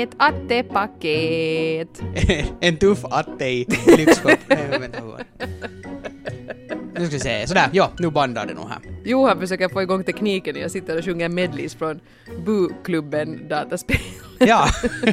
ett attepaket. En tuff atte i lyxskåp. Nu ska vi se. Sådär, ja, nu bandar det nog här. Johan försöker få igång tekniken. Jag sitter och sjunger medleys från Bu-klubben dataspel. Ja.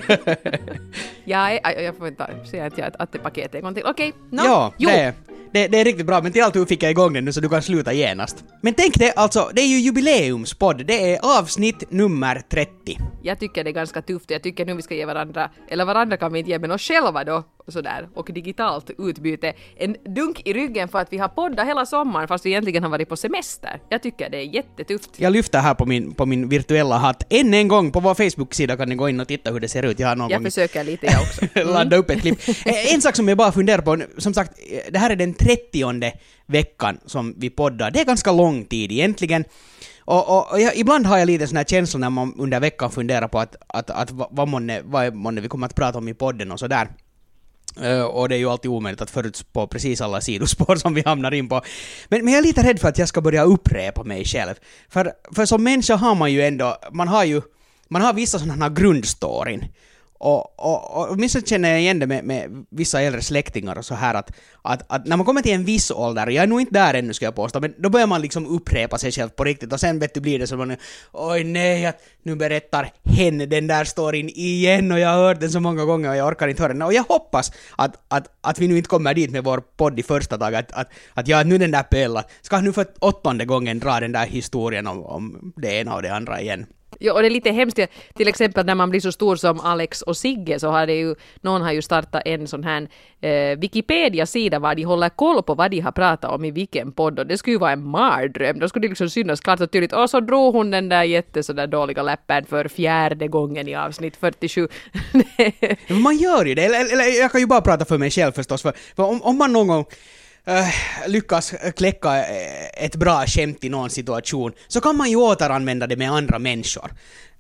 Jag får inte säga att jag är ett attepaket en gång till. Okej, Ja, det är riktigt bra, men till allt fick jag igång den nu så du kan sluta genast. Men tänk det, alltså, det är ju jubileumspodd. Det är avsnitt nummer 30. Jag tycker det är ganska tufft. Jag tycker nu vi ska ge varandra, eller varandra kan vi inte ge, men oss själva då, sådär, och digitalt utbyte. En dunk i ryggen för att vi har poddat hela sommaren fast vi egentligen har varit på semester. Jag tycker det är jättetufft. Jag lyfter här på min virtuella hatt. Än en gång på vår Facebook-sida kan ni gå in och titta hur det ser ut. Jag försöker lite jag också. Ladda upp ett klipp. En sak som jag bara funderar på, som sagt, det här är den 30:e veckan som vi poddar. Det är ganska lång tid egentligen. Och ibland har jag lite sån här känsla när man under veckan funderar på att vad månne vi kommer att prata om i podden och sådär. Och det är ju alltid omöjligt att förutspå precis alla sidospår som vi hamnar in på. Men jag är lite rädd för att jag ska börja upprepa mig själv. För som människa har man ju ändå, man har vissa sådana här grundstoryn. Och åtminstone känner jag igen det med vissa äldre släktingar och så här att när man kommer till en viss ålder, jag är nog inte där ännu ska jag påstå, men då börjar man liksom upprepa sig själv på riktigt och sen blir det så man, oj nej, att nu berättar hen den där storyn igen och jag har hört den så många gånger och jag orkar inte höra den. Och jag hoppas att vi nu inte kommer dit med vår podd i första dag, att jag nu den där Pella ska nu för 8:e gången dra den där historien om det ena och det andra igen. Ja, och det är lite hemskt, till exempel när man blir så stor som Alex och Sigge så har det ju, någon har ju startat en sån här Wikipedia-sida var de håller koll på vad de har pratat om i vilken podd och det skulle ju vara en mardröm. Då skulle det liksom synas klart och tydligt, och så drog hon den där sådär dåliga läppen för 4:e gången i avsnitt 47. Men man gör ju det, eller jag kan ju bara prata för mig själv förstås, för om man någon gång lyckas kläcka ett bra skämt i någon situation så kan man ju återanvända det med andra människor.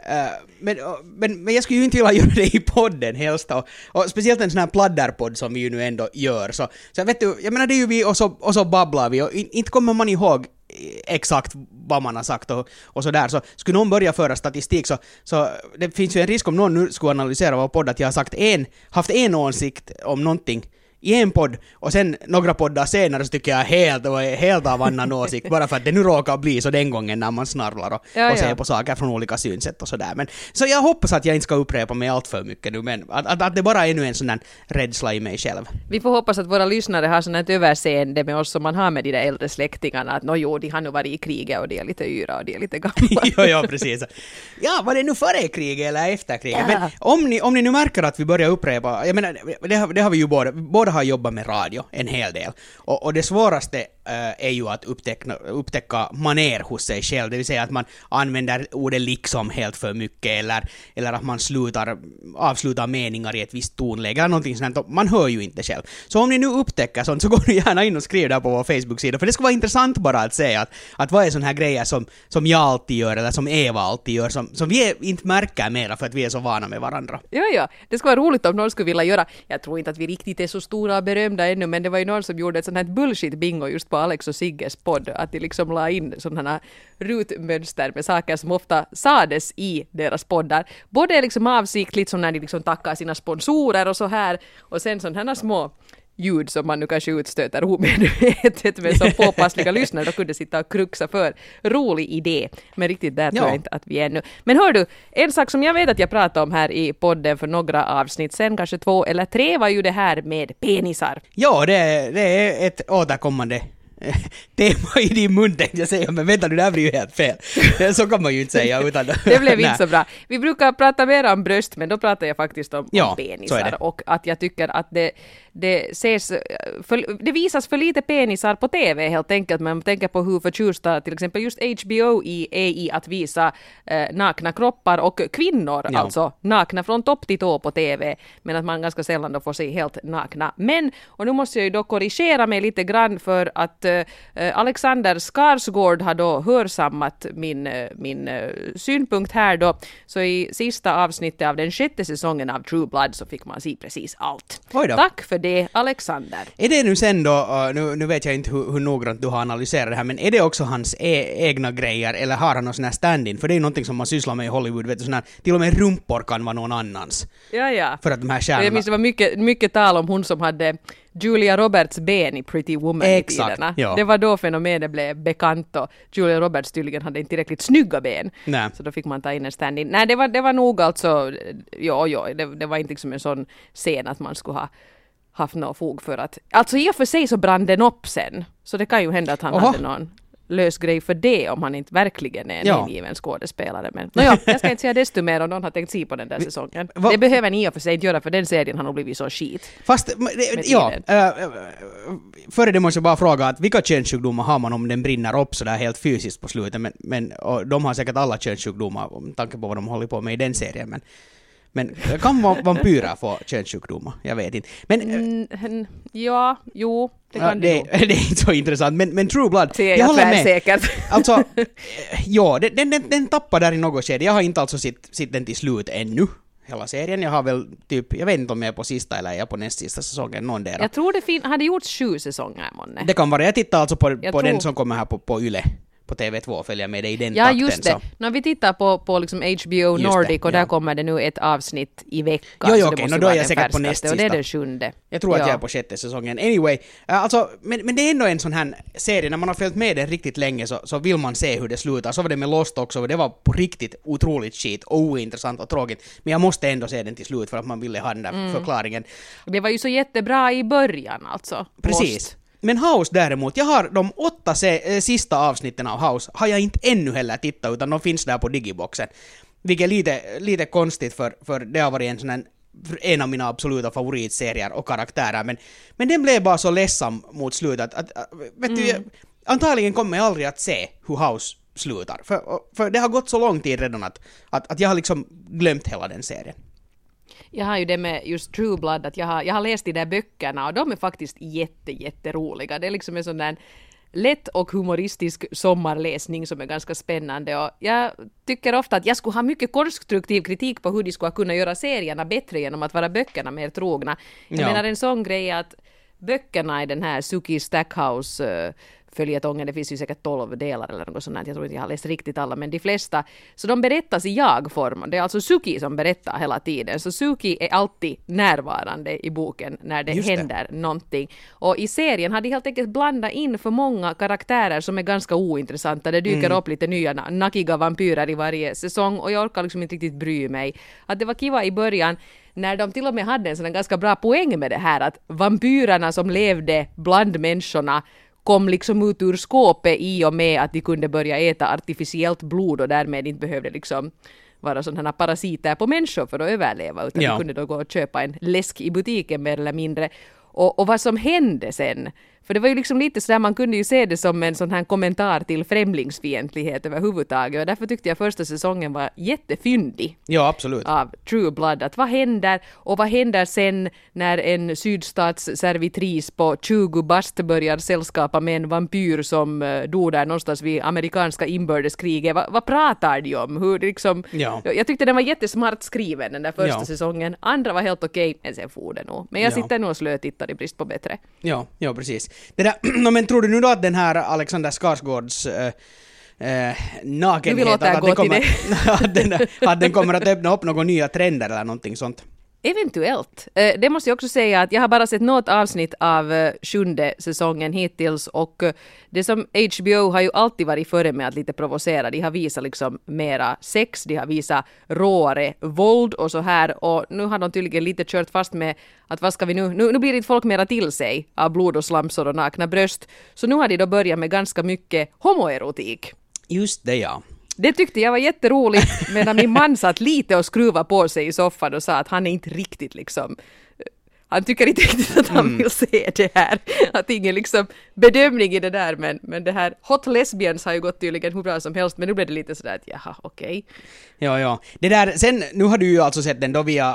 Men jag skulle ju inte vilja göra det i podden helst och speciellt en sån här pladderpodd som vi ju nu ändå gör så vet du, jag menar det är ju vi och så babblar vi och inte kommer man ihåg exakt vad man har sagt och så där, så skulle någon börja föra statistik så det finns ju en risk om någon nu skulle analysera vår podd att jag har haft en åsikt om någonting i en podd och sen några poddar senare så tycker jag helt av annan åsikt bara för att det nu råkar bli så den gången när man snarlar och ser på saker från olika synsätt och sådär. Men så jag hoppas att jag inte ska upprepa mig allt för mycket nu, men att det bara är nu en sån där rädsla i mig själv. Vi får hoppas att våra lyssnare har sån ett överseende med oss som man har med de där äldre släktingarna, att de har nu varit i kriget och de är lite yra och de är lite gamla. ja, precis. Ja, var det nu före kriget eller efter kriget? Men om ni nu märker att vi börjar upprepa, jag menar, det har vi ju båda har jobbat med radio en hel del. Och det svåraste är ju att upptäcka maner hos sig själv. Det vill säga att man använder ordet liksom helt för mycket eller att man avslutar meningar i ett visst tonläge eller någonting sånt. Man hör ju inte själv. Så om ni nu upptäcker sånt så går ni gärna in och skriv där på vår Facebook-sida. För det ska vara intressant bara att säga att vad är sån här grejer som jag alltid gör eller som Eva alltid gör som vi inte märker mera för att vi är så vana med varandra. Ja. Det skulle vara roligt om någon skulle vilja göra. Jag tror inte att vi riktigt är så stora och berömda ännu, men det var ju någon som gjorde ett sånt här bullshit-bingo just på Alex och Sigges podd, att de liksom la in sådana här rutmönster med saker som ofta sades i deras poddar. Både liksom avsiktligt som när de liksom tackar sina sponsorer och så här, och sen sådana här små ljud som man nu kanske utstöter omedvetet med så påpassliga lyssnare, då kunde sitta och kruxa för. Rolig idé, men riktigt där tror jag inte att vi är nu. Men hör du, en sak som jag vet att jag pratade om här i podden för några avsnitt sen, kanske 2 eller 3, var ju det här med penisar. Ja, det är ett återkommande tema i din mun tänkte jag säga, men vänta, det där blir ju helt fel. Så kan man ju inte säga. Utan det blev inte så bra. Vi brukar prata mer om bröst, men då pratar jag faktiskt om penisar. Och att jag tycker att det visas för lite penisar på TV helt enkelt. Man tänker på hur förtjusta till exempel just HBO är i att visa nakna kroppar och kvinnor, alltså nakna från topp till tå på TV, men att man ganska sällan då får se helt nakna. Men, och nu måste jag ju då korrigera mig lite grann för att Alexander Skarsgård har då hörsammat min synpunkt här då. Så i sista avsnittet av den 6:e säsongen av True Blood så fick man se precis allt. Tack för det, Alexander. Är det nu sen då, nu vet jag inte hur noggrant du har analyserat det här, men är det också hans egna grejer eller har han någon sån här stand-in? För det är ju någonting som man sysslar med i Hollywood, vet du, sån här, till och med rumpor kan vara någon annans. Ja. För att de här stjärnorna... Jag minns det var mycket tal om hon som hade Julia Roberts ben i Pretty Woman i tiderna. Ja. Det var då fenomenet blev bekant och Julia Roberts tydligen hade inte tillräckligt snygga ben. Nej. Så då fick man ta in en stand-in. Nej, det var nog alltså, det var inte liksom en sån scen att man skulle ha haft något fog för att... Alltså i och för sig så brann den upp sen. Så det kan ju hända att han hade någon lös grej för det om han inte verkligen är en ingiven skådespelare. Men jag ska inte säga desto mer om någon har tänkt se på den där säsongen. Det behöver ni i och för sig inte göra för den serien har nog blivit så skit. Fast, före det måste jag bara fråga att vilka könssjukdomar har man om den brinner upp så där helt fysiskt på slutet? Men och de har säkert alla könssjukdomar med tanke på vad de håller på med i den serien. Men kan vampyrer få könssjukdomar? Jag vet inte. Men, det kan det är inte så intressant. Men True Blood, jag håller med. Säkert. Alltså, den tappar där i något skede. Jag har inte alltså sitt den till slut ännu. Hela serien. Jag har väl jag vet inte om jag är på sista eller jag är på näst sista säsongen, någon där. Jag tror det hade gjorts 7 säsonger, månne. Det kan vara. Jag tittar alltså på den som kommer här på Yle. På TV2 följer med det i den takten. Ja, just det. När vi tittar på liksom HBO Nordic och där kommer det nu ett avsnitt i veckan. Jo, okej. Då är jag säkert på näst sista. Och det är den 7:e. Jag tror att jag är på 6:e säsongen. Anyway, alltså, men det är ändå en sån här serie, när man har följt med den riktigt länge så vill man se hur det slutar. Så var det med Lost också, och det var på riktigt otroligt skit och ointressant och tråkigt. Men jag måste ändå se den till slut för att man ville ha den där förklaringen. Det var ju så jättebra i början alltså. Precis. Lost. Men House däremot, jag har de 8 sista avsnitten av House har jag inte ännu heller tittat, utan de finns där på Digiboxen. Vilket är lite konstigt för det har varit en av mina absoluta favoritserier och karaktärer. Men den blev bara så ledsam mot slutet att vet du, antagligen kommer jag aldrig att se hur House slutar. För det har gått så lång tid redan att jag har liksom glömt hela den serien. Jag har ju det med just True Blood att jag har läst de där böckerna och de är faktiskt jätteroliga. Det är liksom en sån där lätt och humoristisk sommarläsning som är ganska spännande och jag tycker ofta att jag skulle ha mycket konstruktiv kritik på hur de skulle kunna göra serierna bättre genom att vara böckerna mer trogna. Jag menar en sån grej att böckerna i den här Suki Stackhouse följetongen, det finns ju säkert 12 delar eller något sånt, jag tror inte jag har läst riktigt alla, men de flesta, så de berättas i jag-form. Det är alltså Suki som berättar hela tiden, så Suki är alltid närvarande i boken när det händer någonting. Och i serien har de helt enkelt blandat in för många karaktärer som är ganska ointressanta. Det dyker upp lite nya nakiga vampyrer i varje säsong och jag orkar liksom inte riktigt bry mig. Att det var kiva i början när de till och med hade en sån ganska bra poäng med det här att vampyrerna som levde bland människorna kom liksom ut ur skåpet i och med att de kunde börja äta artificiellt blod och därmed inte behövde liksom vara sådana parasiter på människor för att överleva, utan de kunde då gå och köpa en läsk i butiken mer eller mindre. Och vad som hände sen, för det var ju liksom lite sådär, man kunde ju se det som en sån här kommentar till främlingsfientlighet överhuvudtaget, och därför tyckte jag första säsongen var jättefyndig. Ja, absolut. Av True Blood, att vad händer och vad händer sen när en sydstatsservitris på 20 bast börjar sällskapa med en vampyr som dog där någonstans vid amerikanska inbördeskriget. Vad pratar de om? Hur liksom, jag tyckte den var jättesmart skriven den där första säsongen. Andra var helt okej, men sen for det nog. Men jag sitter nog och slötittar i brist på bättre. Ja, precis. Det där, men tror du nu då att den här Alexander Skarsgårds nakenhet att den kommer att öppna upp några nya trender eller någonting sånt? Eventuellt. Det måste jag också säga att jag har bara sett något avsnitt av 7:e säsongen hittills, och det som HBO har ju alltid varit före med att lite provocera. De har visat liksom mera sex, de har visat råare våld och så här, och nu har de tydligen lite kört fast med att vad ska vi nu blir inte folk mera till sig av blod och slamsor och nakna bröst, så nu har de då börjat med ganska mycket homoerotik. Just det, ja. Det tyckte jag var jätteroligt, medan min man satt lite och skruva på sig i soffan och sa att han är inte riktigt liksom... han tycker inte riktigt att han vill se det här. Att ingen liksom bedömning i det där, men det här Hot Lesbians har ju gått tydligen hur bra som helst, men nu blev det lite sådär att jaha, okej. Ja. Det där, sen, nu har du ju alltså sett den då via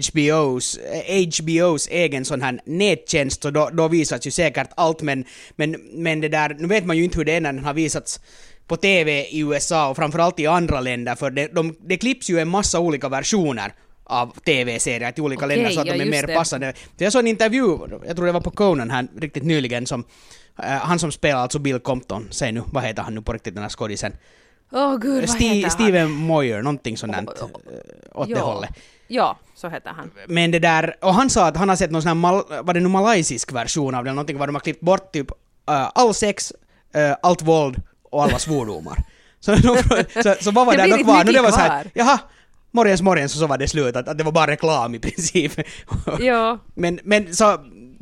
HBOs egen sån här nättjänst, och då visas ju säkert allt, men det där, nu vet man ju inte hur det är när den har visats på TV i USA och framförallt i andra länder, för det klipps ju en massa olika versioner av TV-serier till olika länder så att de är mer passande. Jag såg en intervju, jag tror det var på Conan här riktigt nyligen, som han som spelar alltså Bill Compton, säg nu, vad heter han nu på riktigt den här skådisen? Gud, vad heter han? Steven Moyer, någonting sånt åt det hållet. Ja, så heter han. Men det där, och han sa att han har sett någon sån här, var det nu malaysisk version av det, någonting var de har klippt bort typ all sex, allt våld och alla svordomar. Så vad var det då kvar? Nu det var så här, jaha, morgens så var det slut, att det var bara reklam i princip. Ja. Men så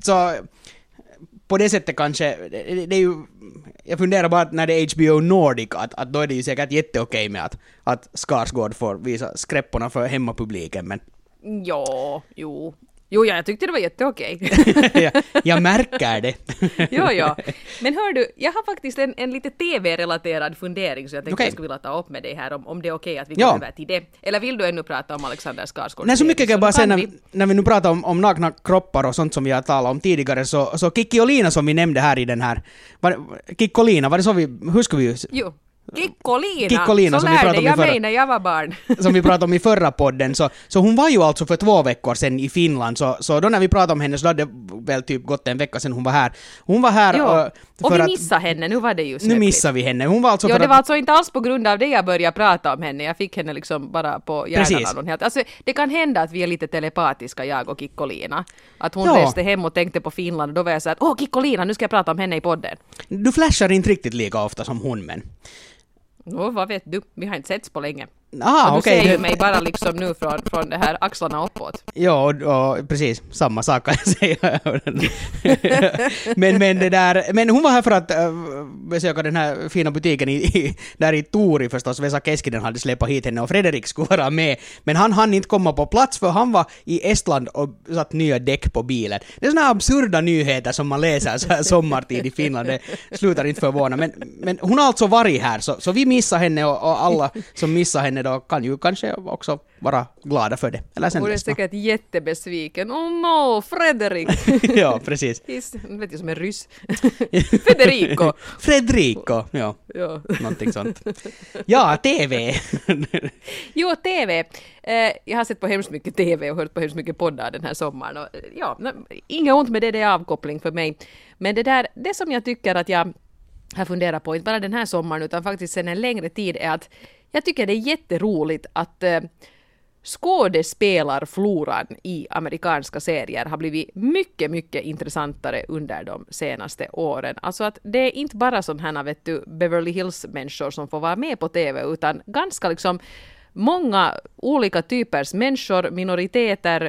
på det sättet kanske, det är ju, jag funderar bara att när det är HBO Nordic, att då är det ju säkert jätteokej med att Skarsgård får visa skräpporna för hemmapubliken, men... Jo, jag tyckte det var jätteokej. Jag märker det. Ja. Men hör du, jag har faktiskt en lite TV-relaterad fundering, så jag tänkte jag skulle vilja ta upp med dig här om det är okej att vi går över till det. Eller vill du ännu prata om Alexander Skarsgård? Nej, så mycket kan jag bara säga när vi nu pratar om nakna kroppar och sånt som vi har talat om tidigare, så Kikki och Lina som vi nämnde här i den här... Kikki och Lina, var det så hur ska vi... Jo. Kikkolina, så lärde jag mig när jag var barn. Som vi pratade om i förra podden, så hon var ju alltså för 2 veckor sedan i Finland, så då när vi pratade om henne så hade det väl typ gått en vecka sedan hon var här. Hon var här och vi missade henne, nu var det ju nu missade vi henne. Hon var alltså det var alltså inte alls på grund av det jag började prata om henne, jag fick henne liksom bara på hjärnan. Alltså, det kan hända att vi är lite telepatiska, jag och Kikkolina. Att hon reste hem och tänkte på Finland, och då var jag så att Kikkolina, nu ska jag prata om henne i podden. Du flashar inte riktigt lika ofta som hon, men... Vad vet du? Vi har inte setts på länge. Du ser ju mig bara liksom nu från det här axlarna uppåt. Ja, och precis. Samma sak kan jag säga. men det där... Men hon var här för att besöka den här fina butiken där i Tori förstås. Vesa Keskinen hade släppt hit henne och Fredrik skulle vara med. Men han hann inte komma på plats för han var i Estland och satt nya däck på bilen. Det är såna här absurda nyheter som man läser så här sommartid i Finland. Det slutar inte förvåna. Men hon har alltså varit här, så vi missar henne, och alla som missar henne då kan ju kanske också vara glada för det. Eller sen hon är säkert jättebesviken. Oh no, Fredrik! Ja, precis. Jag vet ju som en ryss. Fredrico, ja. Någonting sånt. Ja, TV. Jo, TV. Jag har sett på hemskt mycket TV och hört på hemskt mycket poddar den här sommaren. Och, inga ont med det är avkoppling för mig. Men det som jag tycker att jag har funderat på, inte bara den här sommaren utan faktiskt sedan en längre tid, är att jag tycker det är jätteroligt att skådespelarfloran i amerikanska serier har blivit mycket, mycket intressantare under de senaste åren. Alltså att det är inte bara sådana här, Beverly Hills-människor som får vara med på TV, utan ganska liksom många olika typers människor, minoriteter,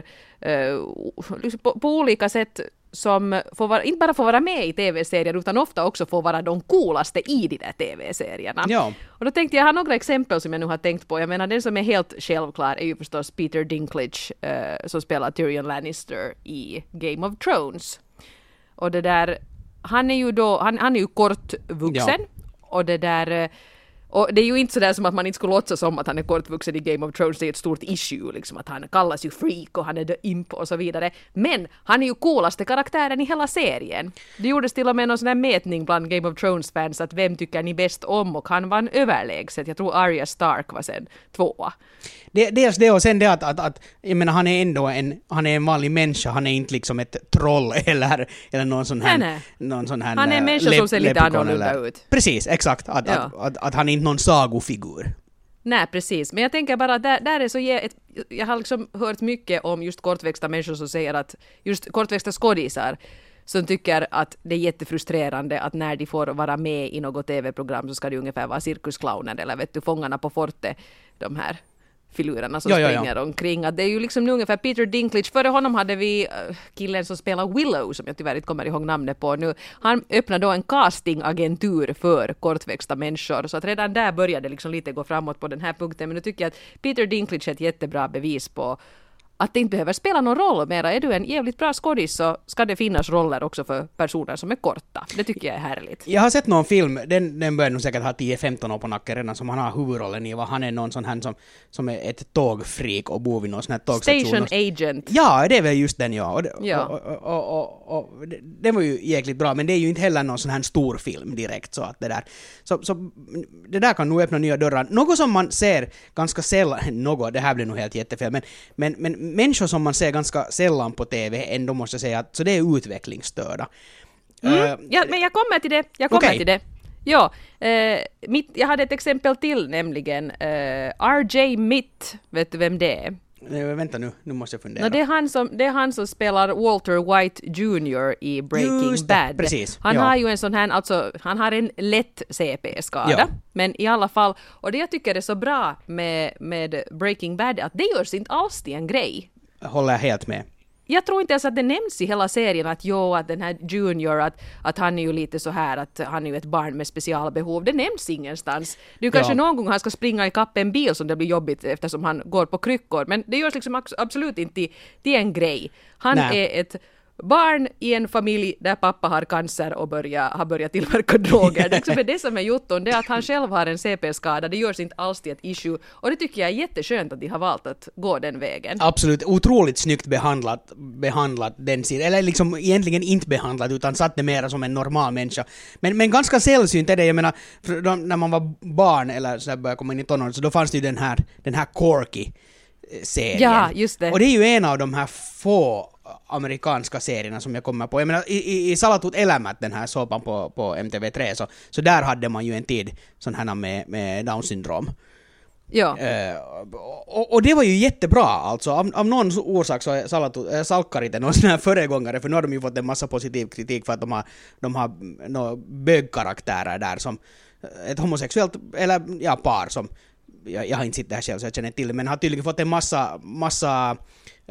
på olika sätt som inte bara får vara med i tv-serier utan ofta också får vara de coolaste i de där tv-serierna. Ja. Och då tänkte jag ha några exempel som jag nu har tänkt på. Jag menar, den som är helt självklar är ju förstås Peter Dinklage som spelar Tyrion Lannister i Game of Thrones. Och det där, han är ju kortvuxen, och det där... Och det är ju inte sådär som att man inte skulle låtsas som att han är kortvuxen i Game of Thrones. Det är ett stort issue, liksom, att han kallas ju freak och han är the imp och så vidare. Men han är ju coolaste karaktären i hela serien. Det gjordes till och med någon sån här mätning bland Game of Thrones-fans att vem tycker ni bäst om, och han vann överlägset. Jag tror Arya Stark var sen 2. Dels det, och sen det att jag menar, han är ändå en vanlig människa, han är inte liksom ett troll eller någon sån här... Nej. Någon sån här han är en människa som ser lite annorlunda ut. Precis, exakt. Att han är inte någon sagofigur. Nej, precis. Men jag tänker bara att där är så... Jag har liksom hört mycket om just kortväxta människor som säger att just kortväxta skådisar som tycker att det är jättefrustrerande att när de får vara med i något tv-program så ska de ungefär vara cirkusclowner eller Fångarna på fortet, de här filurerna som springer omkring. Att det är ju liksom nu ungefär Peter Dinklage. Före honom hade vi killen som spelar Willow, som jag tyvärr inte kommer ihåg namnet på nu. Han öppnade då en castingagentur för kortväxta människor. Så att redan där började liksom lite gå framåt på den här punkten. Men nu tycker jag att Peter Dinklage är ett jättebra bevis på att det inte behöver spela någon roll mera. Är du en jävligt bra skådis så ska det finnas roller också för personer som är korta. Det tycker jag är härligt. Jag har sett någon film, den börjar nog säkert ha 10-15 år på nacken redan, som han har huvudrollen i. Han är någon sån här som är ett tågfreak och bor vid någon sån här tågstation. Station Agent. Ja, det är väl just den, ja. Ja. Den var ju jäkligt bra, men det är ju inte heller någon sån här stor film direkt. Så att det där. Så det där kan nog öppna nya dörrar. Något som man ser ganska sällan, det här blir nog helt jättefel, men människor som man ser ganska sällan på TV ändå måste jag säga att så det är utvecklingsstörda. Ja, men jag kommer till det. Okej. Till det. Ja, jag hade ett exempel till, nämligen RJ Mitt. Vet du vem det är? Vänta nu måste jag fundera. No, det är han som spelar Walter White Jr. i Breaking Bad. Precis. Han har ju en sån här, alltså han har en lätt CP-skada, men i alla fall, och det jag tycker är så bra med Breaking Bad är att det görs inte alls till en grej. Håller jag helt med. Jag tror inte ens att det nämns i hela serien att den här Junior, att han är ju lite så här, att han är ju ett barn med specialbehov. Det nämns ingenstans. Du kanske någon gång han ska springa i kapp en bil som det blir jobbigt eftersom han går på kryckor. Men det görs liksom absolut inte till en grej. Han är ett barn i en familj där pappa har cancer och har börjat tillverka droger. Det är det som är jutton, det är att han själv har en CP-skada. Det görs inte alls till ett issue. Och det tycker jag är jätteskönt att de har valt att gå den vägen. Absolut, otroligt snyggt behandlat den sidan. Eller liksom egentligen inte behandlat, utan satt det mer som en normal människa. Men ganska sällsynt är det, jag menar, när man var barn eller så började komma in i tonåren, så då fanns det ju den här Corky-serien. Ja, just det. Och det är ju en av de här få amerikanska serierna som jag kommer på. Jag menar, i Salatut elämät, den här såpan på MTV3, så där hade man ju en tid sån här med Down syndrom. Ja. Och det var ju jättebra, alltså. Av någon orsak så är Salkkarit någon sån här föregångare, för nu har de ju fått en massa positiv kritik för att de har några bögkaraktärer där som ett homosexuellt, eller par som jag har inte sett det här själv så jag känner till det, men har tydligen fått en massa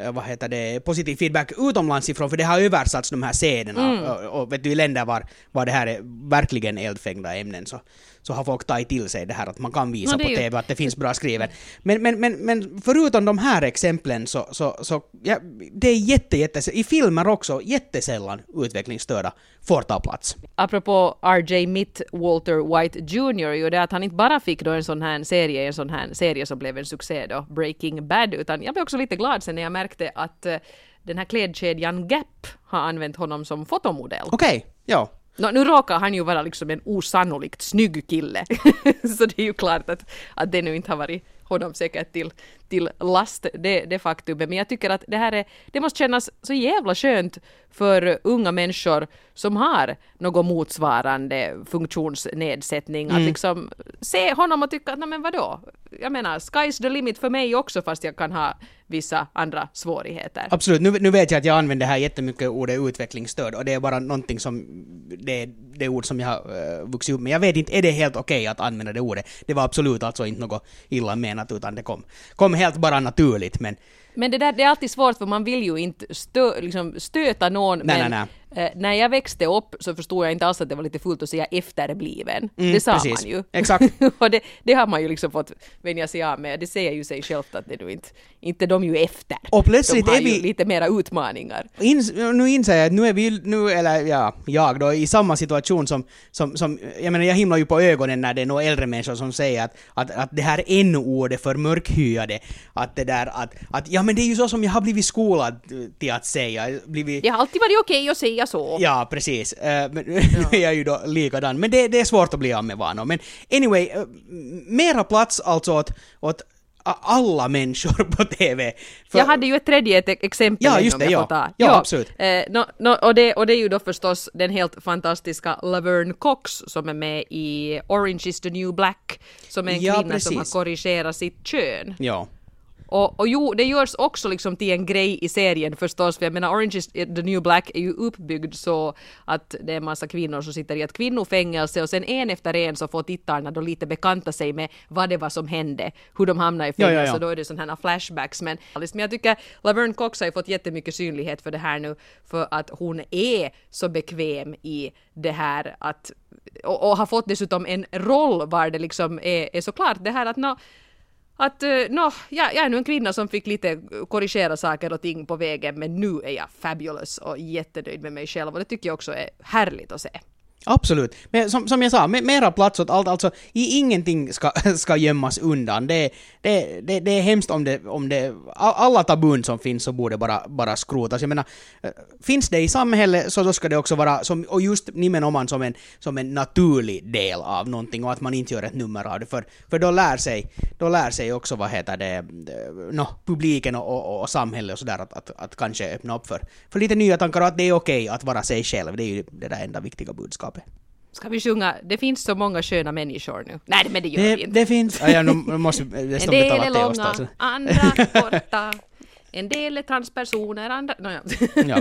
positiv feedback utomlands ifrån, för det har översatts de här scenerna och vet du, i länder var det här är verkligen eldfängda ämnen så har folk tagit till sig det här att man kan visa på TV att det finns bra skrivet. Men förutom de här exemplen så ja, det är jätte i filmer också jättesällan utvecklingsstörda får ta plats. Apropå RJ Mitt, Walter White Jr. ju det att han inte bara fick då en sån här serie som blev en succé då, Breaking Bad, utan jag blev också lite glad sen när jag märkte att den här klädkedjan Gap har använt honom som fotomodell. Okej, ja. Nu råkar han ju vara liksom en osannolikt snygg kille. Så det är ju klart att det nu inte har varit honom säkert till last, det faktumet. Men jag tycker att det måste kännas så jävla skönt för unga människor som har någon motsvarande funktionsnedsättning. Att liksom se honom och tycka att men vadå? Jag menar, sky's the limit för mig också, fast jag kan ha vissa andra svårigheter. Absolut, nu vet jag att jag använder här jättemycket ordet utvecklingsstöd, och det är bara någonting som det ord som jag har vuxit upp med. Jag vet inte, är det helt okej att använda det ordet? Det var absolut alltså inte något illa menat, utan det kom helt bara naturligt, men det är alltid svårt, för man vill ju inte stöta någon. Nej. När jag växte upp så förstod jag inte alls att det var lite fullt att säga efterbliven. Det sa precis. man ju. Exakt. Och det har man ju liksom fått vänja sig av med. Det säger ju sig självt att det nu inte de ju efter. Och plötsligt de har är vi ju lite mera utmaningar. Nu inser jag att nu är vi jag då i samma situation som jag menar, jag himlar ju på ögonen när det är några äldre människor som säger att det här n-ordet för mörkhyade, att det där att ja, men det är ju så som jag har blivit skolad till att säga. Jag har alltid varit okej att säga så. Ja, precis. Men nu är jag ju då likadan. Men det är svårt att bli av med vanor. Men anyway, mera plats alltså åt alla människor på TV. Jag hade ju ett tredje exempel. Ja, just det, ja, absolut. Och det är ju då förstås den helt fantastiska Laverne Cox som är med i Orange is the New Black, som är en kvinna som har korrigerat sitt kön. Ja. Och jo, det görs också liksom till en grej i serien förstås, för jag menar Orange is the New Black är ju uppbyggd så att det är en massa kvinnor som sitter i ett kvinnofängelse, och sen en efter en så får tittarna då lite bekanta sig med vad det var som hände, hur de hamnade i fängelse, och då är det sådana här flashbacks. Men jag tycker Laverne Cox har fått jättemycket synlighet för det här nu, för att hon är så bekväm i det här och har fått dessutom en roll var det liksom är såklart det här att att jag är nu en kvinna som fick lite korrigera saker och ting på vägen, men nu är jag fabulous och jättenöjd med mig själv och det tycker jag också är härligt att se. Absolut. Men som jag sa, mera plats åt allt, alltså ingenting ska gömmas undan. Det är hemskt om det alla tabun som finns så borde bara skrotas. Jag menar, finns det i samhället så då ska det också vara och just nimenomaan som en naturlig del av någonting och att man inte gör ett nummer av det för då lär sig också vad heter det publiken och samhället och sådär att kanske öppna upp för lite nya tankar och att det är okej att vara sig själv. Det är ju det där enda viktiga budskapet. Ska vi sjunga? Det finns så många sköna människor nu. Nej, men det gör vi inte. Det finns. Ja, nu måste en del är långa, andra korta. En del är transpersoner, andra... Ja.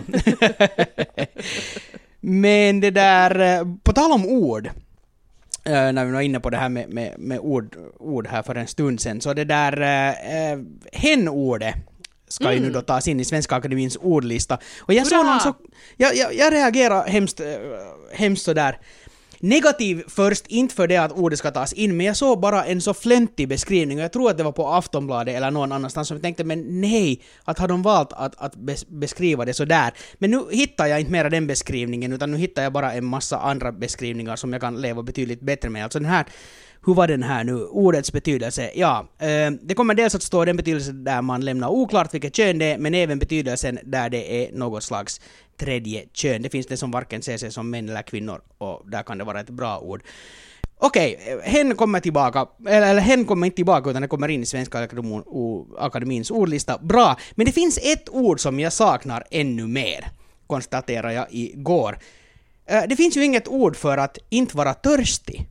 Men det där... På tal om ord, när vi var inne på det här med ord här för en stund sedan, så det där hen-ordet ska ju nu då tas in i Svenska Akademins ordlista. Och jag såg någon så... Jag reagerar hemskt sådär negativ först, inte för det att ordet ska tas in, men jag såg bara en så flöntig beskrivning och jag tror att det var på Aftonbladet eller någon annanstans som jag tänkte, men nej, att har de valt att beskriva det så där. Men nu hittar jag inte mera den beskrivningen, utan nu hittar jag bara en massa andra beskrivningar som jag kan leva betydligt bättre med. Alltså den här, hur var den här nu? Ordets betydelse. Ja, det kommer dels att stå den betydelse där man lämnar oklart vilket kön det är, men även betydelsen där det är något slags tredje kön. Det finns det som varken ser sig som män eller kvinnor och där kan det vara ett bra ord. Okej, hen kommer tillbaka, eller hen kommer inte tillbaka utan det kommer in i Svenska Akademins ordlista. Bra, men det finns ett ord som jag saknar ännu mer, konstaterar jag igår. Det finns ju inget ord för att inte vara törstig.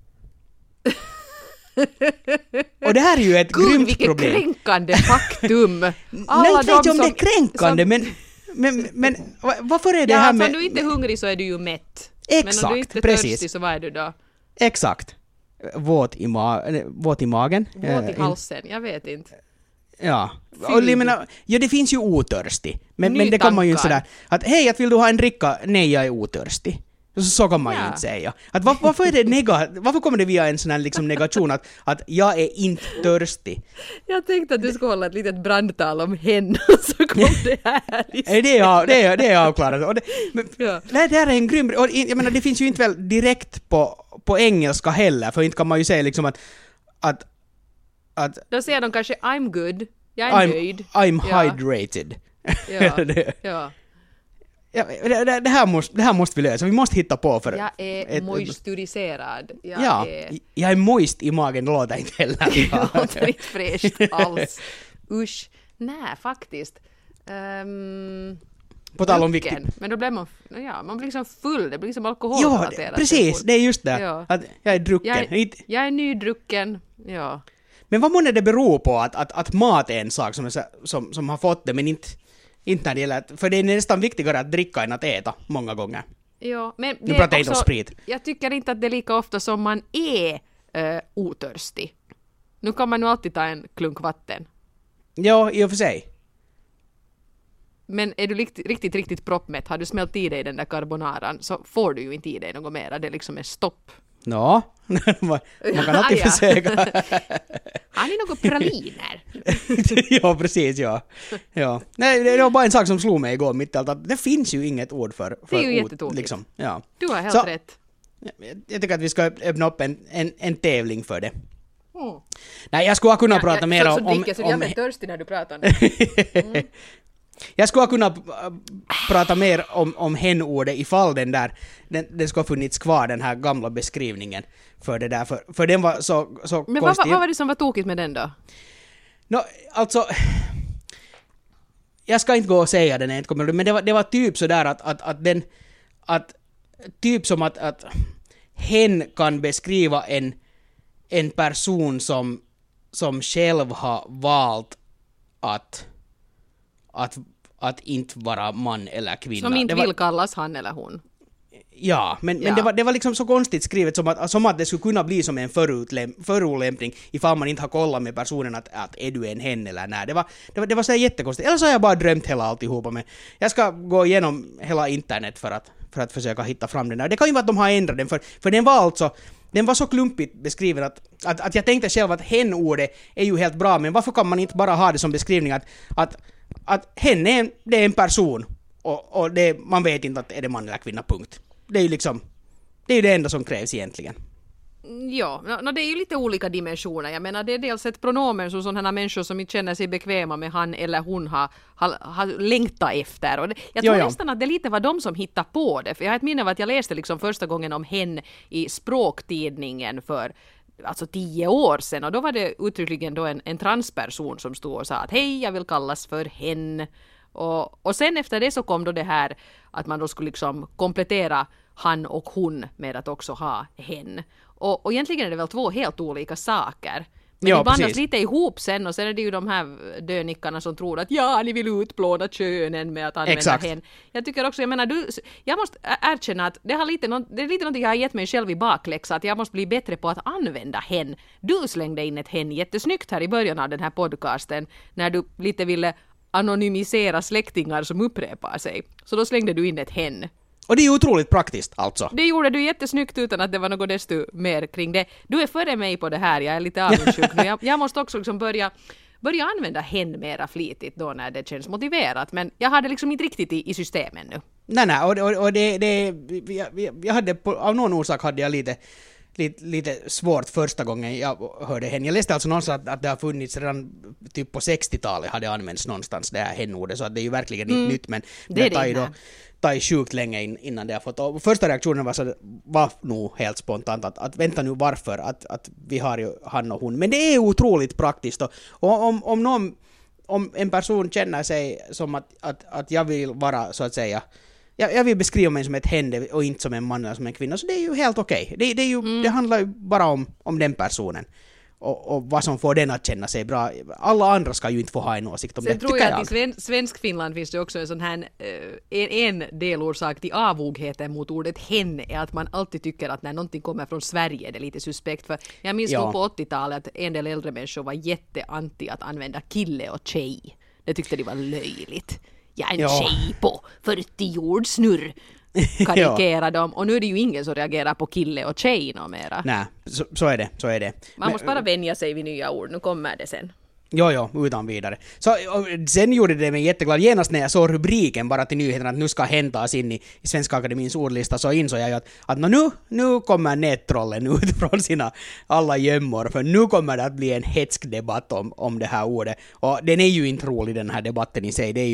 Och det här är ju ett grymt problem. Vilket kränkande faktum. Nej, inte vet jag om det är kränkande, men varför är det här med... om du inte är hungrig så är du ju mätt. Exakt, men om du inte är törstig så vad är du då? Exakt. Våt i magen. Våt i halsen, jag vet inte. Ja. Och det finns ju otörstig. Men det kommer ju inte sådär att hej, att vill du ha en dricka? Nej, jag är otörstig. Så kan man ju inte säga. Att varför är det varför kommer det via en sån här liksom negation att jag är inte törstig? Jag tänkte att du skulle hålla ett litet brandtal om henne så kom det här. Det är avklarat. Det här är en grym... Och jag menar, det finns ju inte väl direkt på engelska heller, för inte kan man ju säga liksom att då säger de kanske I'm good, jag är nöjd. I'm hydrated. Ja. Ja, det här måste vi lösa. Vi måste hitta på för... Jag är moisturiserad. Jag är moist i magen, det låter inte heller. Det låter inte fräscht alls. Usch. Nej, faktiskt. På tal om viktigt. Men då blir man blir liksom full. Det blir liksom alkoholrelaterat. Ja, precis. Det är just det. Ja. Att jag är drucken. Jag är nydrucken. Ja. Men vad måste det bero på att mat är en sak som har fått det, men inte när det gäller... För det är nästan viktigare att dricka än att äta många gånger. Ja, men nu pratar jag inte om sprit. Jag tycker inte att det är lika ofta som man är otörstig. Nu kan man ju alltid ta en klunk vatten. Ja, i och för sig. Men är du riktigt proppmätt, har du smält i dig den där carbonaran så får du ju inte i dig något mera. Det liksom är stopp. Ja, man kan alltid försöka. Har ni några praliner? Ja, precis, ja. Nej, det var bara en sak som slog mig igår mitt i allt, att det finns ju inget ord för det är ju jättetokigt. Liksom, ja. Du har helt rätt. Jag tycker att vi ska öppna upp en tävling för det. Nej, jag skulle ha kunnat prata mer om... Jag blir törstig när du pratar. Jag skulle ha kunnat prata mer om hen-ordet ifall den skulle ha funnits kvar, den här gamla beskrivningen för det där, för den var så men konstig. vad var det som var tokigt med den då? Alltså jag ska inte gå och säga den, men det var typ sådär att typ som att hen kan beskriva en person som själv har valt att inte vara man eller kvinna. Som inte vill kallas han eller hon. Ja, men det var liksom så konstigt skrivet som att det skulle kunna bli som en förolämpning ifall man inte har kollat med personen att är du en hen eller nej. Det var så jättekonstigt. Eller så har jag bara drömt hela alltihopa. Men jag ska gå igenom hela internet för att försöka hitta fram den där. Det kan ju vara att de har ändrat den, för den var alltså den var så klumpigt beskriven att jag tänkte själv att hen-ordet är ju helt bra, men varför kan man inte bara ha det som beskrivning att hen är det är en person och det, man vet inte att är det man eller kvinna, punkt. Det är ju liksom, det är ju det enda som krävs egentligen. Ja, det är ju lite olika dimensioner. Jag menar, det är dels ett pronomen som sådana människor som inte känner sig bekväma med han eller hon har längtat efter. Och jag tror nästan att det lite var de som hittade på det. För jag har ett minne av att jag läste liksom första gången om hen i språktidningen för alltså 10 år sedan. Och då var det uttryckligen då en transperson som stod och sa att hej, jag vill kallas för hen. Och sen efter det så kom då det här att man då skulle liksom komplettera han och hon med att också ha hen. Och egentligen är det väl 2 helt olika saker. Men det bandas lite ihop sen, och sen är det ju de här dönickarna som tror att ni vill utplåna könen med att använda hen. Jag tycker också, jag menar, jag måste erkänna att det är lite något jag har gett mig själv i bakläxa, att jag måste bli bättre på att använda hen. Du slängde in ett hen jättesnyggt här i början av den här podcasten när du lite ville anonymisera släktingar som upprepar sig. Så då slängde du in ett hen. Och det är otroligt praktiskt alltså. Det gjorde du jättesnyggt utan att det var något desto mer kring det. Du är före mig på det här, jag är lite avundsjuk nu. Jag måste också liksom börja använda hen mera flitigt då när det känns motiverat. Men jag hade liksom inte riktigt i systemen nu. Nej, och jag hade av någon orsak hade jag lite svårt första gången jag hörde hen. Jag läste alltså någonstans att det har funnits redan typ på 60-talet hade använts någonstans det här hen-ordet, så att det är ju verkligen inte nytt, men det tar sjukt länge innan det har fått. Och första reaktionen var nog helt spontant att vänta nu, varför att vi har ju han och hon, men det är otroligt praktiskt, och om en person känner sig som att jag vill vara så att säga, jag vill beskriva mig som ett hen och inte som en man eller som en kvinna, så det är ju helt okej. Det handlar ju bara om den personen och vad som får den att känna sig bra. Alla andra ska ju inte få ha en åsikt om det. Sen tror jag att i svensk Finland finns det också en sån här en delorsak till avogheten mot ordet hen är att man alltid tycker att när någonting kommer från Sverige är det lite suspekt. För jag minns nog på 80-talet att en del äldre människor var jätteanti att använda kille och tjej. Det tyckte de var löjligt. Jag är en tjej på 40 jordsnurr, karikera dem. Och nu är det ju ingen som reagerar på kille och tjej någon mera. Nej, så är det. Man måste bara vänja sig vid nya ord, nu kommer det sen. Jo, utan vidare. Så, sen gjorde det mig jätteglad. Genast när jag såg rubriken bara till nyheterna att nu ska häntas in i Svenska Akademins ordlista, så insåg jag att nu kommer nättrollen ut från sina alla gömmor, för nu kommer det att bli en hetsk debatt om det här ordet. Och den är ju inte rolig, den här debatten i sig. Det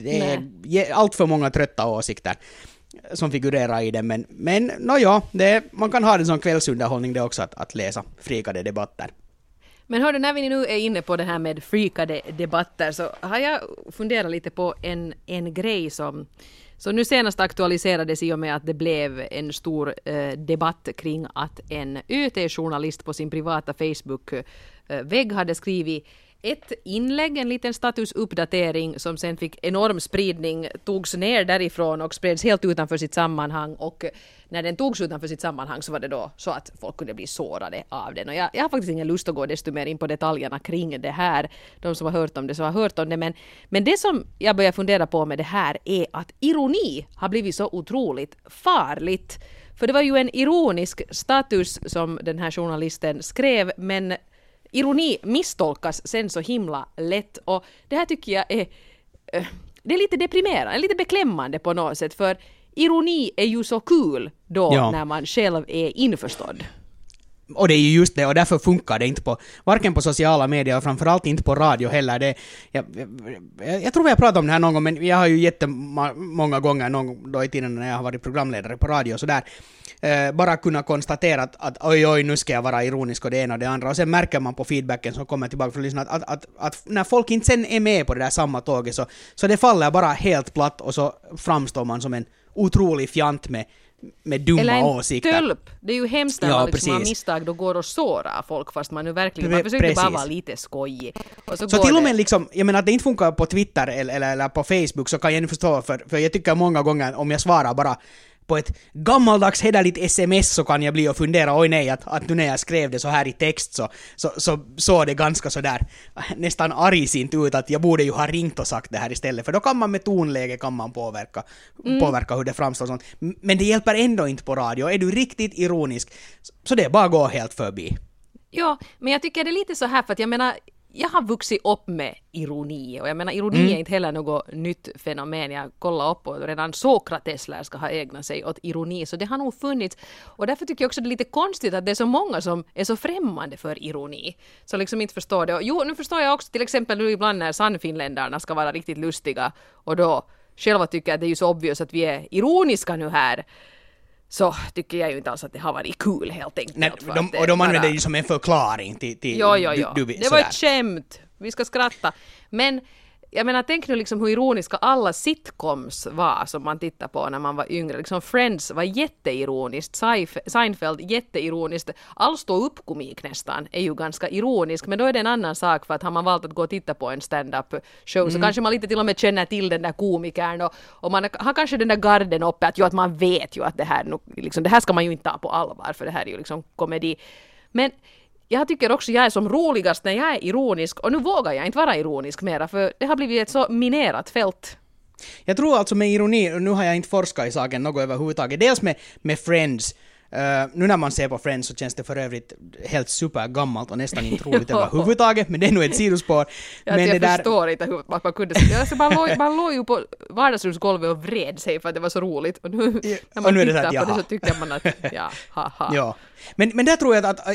är allt för många trötta åsikter som figurerar i den, men man kan ha det som kvällsunderhållning det också att läsa frikade debatter. Men hörde, när vi nu är inne på det här med freakade debatter, så har jag funderat lite på en grej som nu senast aktualiserades i och med att det blev en stor debatt kring att en ÖT-journalist på sin privata Facebook-vägg hade skrivit ett inlägg, en liten statusuppdatering som sen fick enorm spridning, togs ner därifrån och spreds helt utanför sitt sammanhang, och när den togs utanför sitt sammanhang så var det då så att folk kunde bli sårade av den. Och jag har faktiskt ingen lust att gå desto mer in på detaljerna kring det här. De som har hört om det så har hört om det, men det som jag börjar fundera på med det här är att ironi har blivit så otroligt farligt. För det var ju en ironisk status som den här journalisten skrev, men ironi misstolkas sen så himla lätt, och det här tycker jag det är lite deprimerande, lite beklämmande på något sätt, för ironi är ju så kul då när man själv är införstådd. Och det är ju just det, och därför funkar det inte varken på sociala medier och framförallt inte på radio heller. Jag tror jag pratat om det här någon gång, men jag har ju jättemånga gånger någon då i tiden när jag har varit programledare på radio och sådär, bara kunna konstatera att oj, nu ska jag vara ironisk och det ena och det andra, och sen märker man på feedbacken som kommer tillbaka från lyssnarna att när folk inte sen är med på det där samma tåget, så det faller bara helt platt, och så framstår man som en otrolig fjant med dumma åsikter. Eller en tölp. Det är ju hemskt när man liksom har misstag, då går och sårar folk, fast man nu verkligen, man försöker bara vara lite skojig. Och så till och med liksom, jag menar att det inte funkar på Twitter eller på Facebook, så kan jag inte förstå, för jag tycker många gånger om jag svarar på ett gammaldags hederligt sms så kan jag bli och fundera, oj nej, att nu när jag skrev det så här i text så det ganska så där nästan argsint ut att jag borde ju ha ringt och sagt det här istället, för då kan man med tonläge kan man påverka hur det framstår sånt. Men det hjälper ändå inte på radio. Är du riktigt ironisk så det är bara att gå helt förbi. Ja, men jag tycker det är lite så här, för att jag menar, jag har vuxit upp med ironi, och jag menar ironi är inte heller något nytt fenomen. Jag kollar upp och redan Sokrates lär ska ha ägnat sig åt ironi, så det har nog funnits, och därför tycker jag också det är lite konstigt att det är så många som är så främmande för ironi, så liksom inte förstår det. Och jo, nu förstår jag också till exempel nu ibland när sannfinländarna ska vara riktigt lustiga och då själva tycker att det är ju så obvious att vi är ironiska nu här, så tycker jag ju inte alls att det har varit kul helt enkelt. Nej, och de använder det som en förklaring till Jo. Det var ett skämt. Vi ska skratta. Men jag menar, tänk nu liksom hur ironiska alla sitcoms var som man tittar på när man var yngre. Liksom Friends var jätteironiskt, Seinfeld jätteironiskt. All stå-upp-komik nästan är ju ganska ironisk, men då är det en annan sak, för att har man valt att gå och titta på en stand-up show så kanske man lite till och med känner till den där komikern, och man har kanske den där garden uppe att man vet ju att det här, liksom, det här ska man ju inte ta på allvar, för det här är ju liksom komedi. Men jag tycker också jag är som roligast när jag är ironisk, och nu vågar jag inte vara ironisk mera, för det har blivit ett så minerat fält. Jag tror alltså med ironi, och nu har jag inte forskat i saken något överhuvudtaget, dels med Friends. Nu när man ser på Friends så känns det för övrigt helt supergammalt och nästan inte roligt överhuvudtaget, men det är nog ett sidospår. Men jag förstår inte hur man kunde man låg ju på vardagsrumsgolvet och vred sig för att det var så roligt, och nu när man tittar på det så tycker man att ja. Men där tror jag att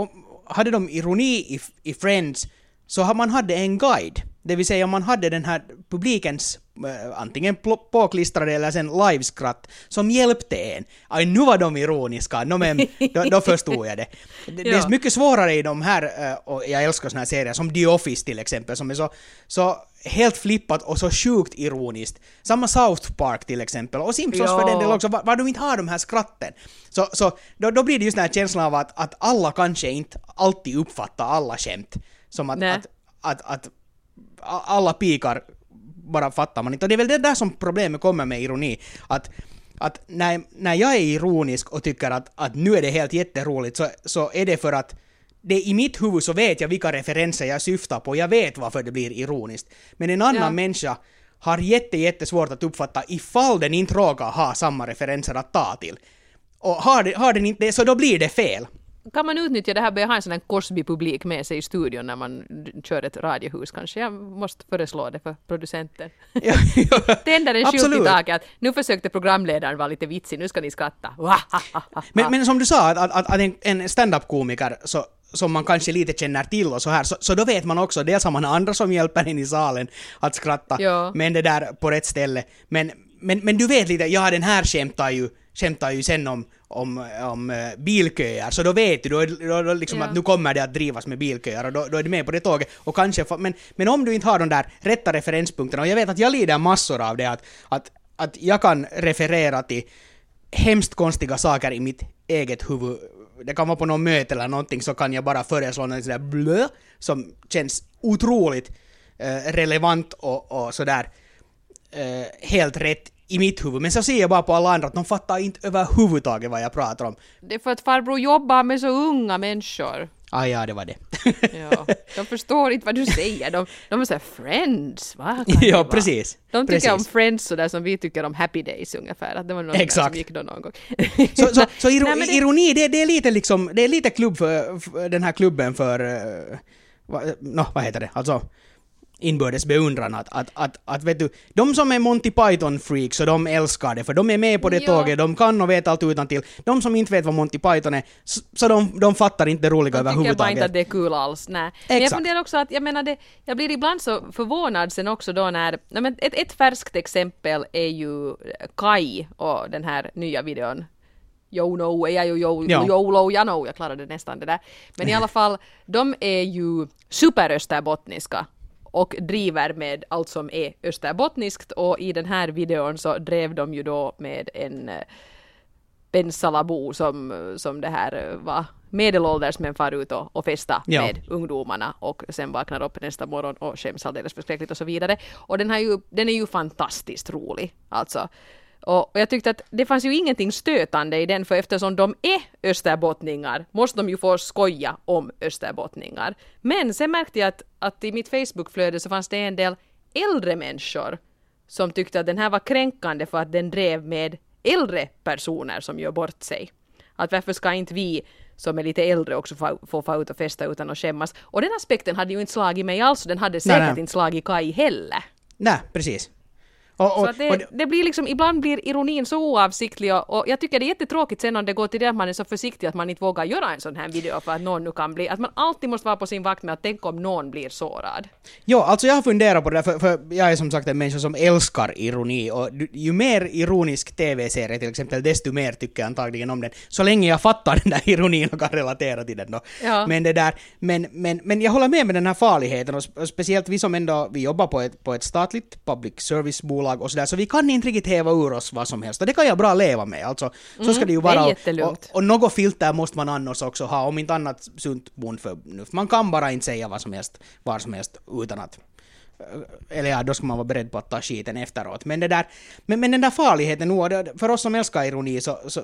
hade de ironi i Friends så har man hade en guide. Det vill säga man hade den här publikens antingen påklistrade eller sen liveskratt som hjälpte en. Aj, nu var de ironiska, då förstod jag det. Det är mycket svårare i de här, och jag älskar såna här serier som The Office till exempel, som är så helt flippat och så sjukt ironiskt. Samma South Park till exempel, och Simpsons för den del också, var de inte har de här skratten. Så då blir det just den här känslan av att alla kanske inte alltid uppfattar alla skämt. Som att alla pikar bara fattar man inte. Och det är väl det där som problemet kommer med ironi. Att när jag är ironisk och tycker att nu är det helt jätteroligt, så är det för att det i mitt huvud så vet jag vilka referenser jag syftar på. Jag vet varför det blir ironiskt. Men en annan människa har jättesvårt att uppfatta ifall den inte råkar ha samma referenser att ta till. Och har den inte det, så då blir det fel. Kan man utnyttja det här, börja ha en sån här Cosby-publik med sig i studion när man kör ett radiohus kanske? Jag måste föreslå det för producenten. Tänder en skylt i taket. Nu försökte programledaren vara lite vitsig, nu ska ni skratta. Men som du sa, att en stand-up-komiker som man kanske lite känner till och så här, så då vet man också, dels har man andra som hjälper en i salen att skratta, men det där på rätt ställe. Men du vet lite, den här skämtar ju sen om bilköer, så då vet du då liksom att nu kommer det att drivas med bilköer, och då är du med på det tåget, och kanske men om du inte har de där rätta referenspunkterna, och jag vet att jag lider massor av det, att jag kan referera till hemskt konstiga saker i mitt eget huvud. Det kan vara på någon möte eller någonting, så kan jag bara föreslå något sådär blö som känns otroligt relevant och sådär helt rätt i mitt huvud. Men så ser jag bara på alla andra att de fattar inte överhuvudtaget vad jag pratar om. Det är för att farbror jobbar med så unga människor. Ja, det var det. De förstår inte vad du säger. De är så här, Friends, va? Ja, precis. De tycker om Friends så där som vi tycker om Happy Days ungefär. Att det var någon som gick då någon gång. Så ironi, det är lite liksom, det är lite klubb för den här klubben för vad heter det? Alltså inbördes beundran att vet du, de som är Monty Python freaks och de älskar det, för de är med på det tåget, de kan och vet allt utantill. De som inte vet vad Monty Python är, så de fattar inte det roliga överhuvudtaget. De tycker bara inte att det är kul alls, nej. Men jag funderar också att, jag blir ibland så förvånad sen också då när, ett färskt exempel är ju Kai och den här nya videon. Jag klarade nästan det där. Men i alla fall, de är ju superösterbottniska och driver med allt som är österbottniskt, och i den här videon så drev de ju då med en pensalabo som det här var medelålders men far ut och festa med ungdomarna och sen vaknar upp nästa morgon och skäms alldeles förskräckligt och så vidare. Och den är ju fantastiskt rolig. Alltså Och jag tyckte att det fanns ju ingenting stötande i den, för eftersom de är österbottningar måste de ju få skoja om österbottningar. Men sen märkte jag att i mitt Facebookflöde så fanns det en del äldre människor som tyckte att den här var kränkande för att den drev med äldre personer som gör bort sig. Att varför ska inte vi som är lite äldre också få ut och festa utan att skämmas. Och den aspekten hade ju inte slagit mig alls, och den hade säkert inte slagit Kai heller. Nej, precis. Så att det blir liksom, ibland blir ironin så oavsiktlig, och jag tycker det är jättetråkigt sen om det går till det att man är så försiktig att man inte vågar göra en sån här video för att någon nu kan bli, att man alltid måste vara på sin vakt med att tänka om någon blir sårad. Jo, alltså jag har funderat på det där, för jag är som sagt en människa som älskar ironi, och ju mer ironisk tv-serie till exempel, desto mer tycker jag antagligen om den, så länge jag fattar den där ironin och kan relatera till den då. Ja. Men det där, men jag håller med den här farligheten, och speciellt vi som ändå, vi jobbar på ett statligt public service-bolag och sådär, så vi kan inte riktigt häva ur oss vad som helst, och det kan jag bra leva med, alltså så ska det ju vara, och något filter måste man annars också ha, om inte annat sunt bondförnuft. Man kan bara inte säga vad som helst, var som helst, utan att, eller ja, då ska man vara beredd på att ta skiten efteråt. Men det där, men den där farligheten nu, för oss som älskar ironi,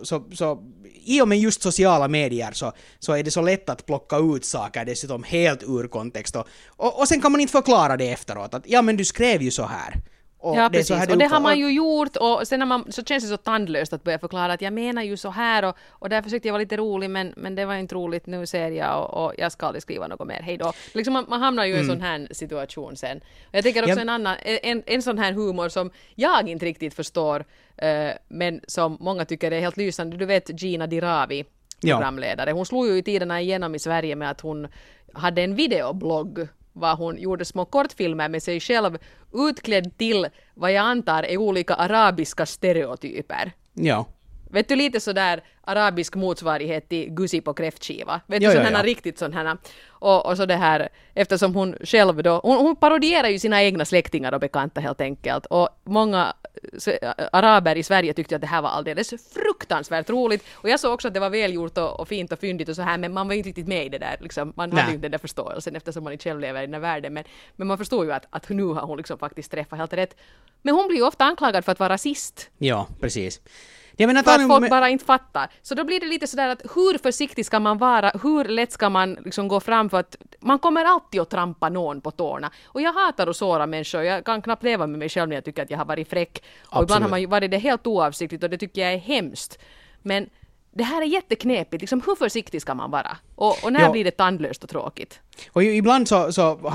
så i och med just sociala medier så är det så lätt att plocka ut saker dessutom helt ur kontext, och sen kan man inte förklara det efteråt, att ja, men du skrev ju så här. Ja, precis. Och det har man ju gjort, och sen så känns det så tandlöst att börja förklara att jag menar ju så här, och där försökte jag vara lite rolig, men det var inte roligt, nu ser jag, och jag ska aldrig skriva något mer, hej då. Liksom man hamnar ju i en sån här situation sen. Och jag tänker också en sån här humor som jag inte riktigt förstår, men som många tycker är helt lysande. Du vet Gina Dirawi, programledare. Hon slog ju i tiderna igenom i Sverige med att hon hade en videoblogg, var hon gjorde små kortfilmer med sig själv utklädd till vad jag antar är olika arabiska stereotyper. Ja. Vet du, lite sådär arabisk motsvarighet till Gussi på kräftskiva. Vet du, sådana riktigt sådana. Och så det här, eftersom hon själv då, hon parodierar ju sina egna släktingar och bekanta helt enkelt. Och många araber i Sverige tyckte att det här var alldeles fruktansvärt roligt. Och jag såg också att det var välgjort och fint och fyndigt och så här, men man var inte riktigt med i det där. Liksom. Man hade ju inte den där förståelsen eftersom man inte själv lever i den här världen. Men man förstår ju att nu har hon liksom faktiskt träffat helt rätt. Men hon blir ju ofta anklagad för att vara rasist. Ja, precis. För att folk bara inte fattar. Så då blir det lite sådär att hur försiktig ska man vara, hur lätt ska man liksom gå fram, för att man kommer alltid att trampa någon på tårna. Och jag hatar att såra människor, jag kan knappt leva med mig själv när jag tycker att jag har varit fräck. Och ibland har man ju varit det helt oavsiktligt, och det tycker jag är hemskt. Men det här är jätteknepigt, liksom, hur försiktig ska man vara? Och när blir det tandlöst och tråkigt? Och ibland så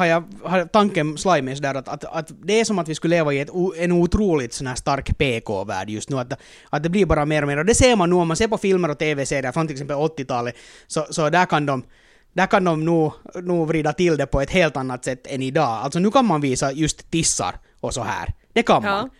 har tanken slagit mig sådär att det är som att vi skulle leva i en otroligt sån här stark PK-värld just nu, att det blir bara mer och mer, och det ser man nu om man ser på filmer och tv-serier från till exempel 80-talet, så där kan de nog vrida till det på ett helt annat sätt än idag. Alltså nu kan man visa just tissar och så här, det kan man.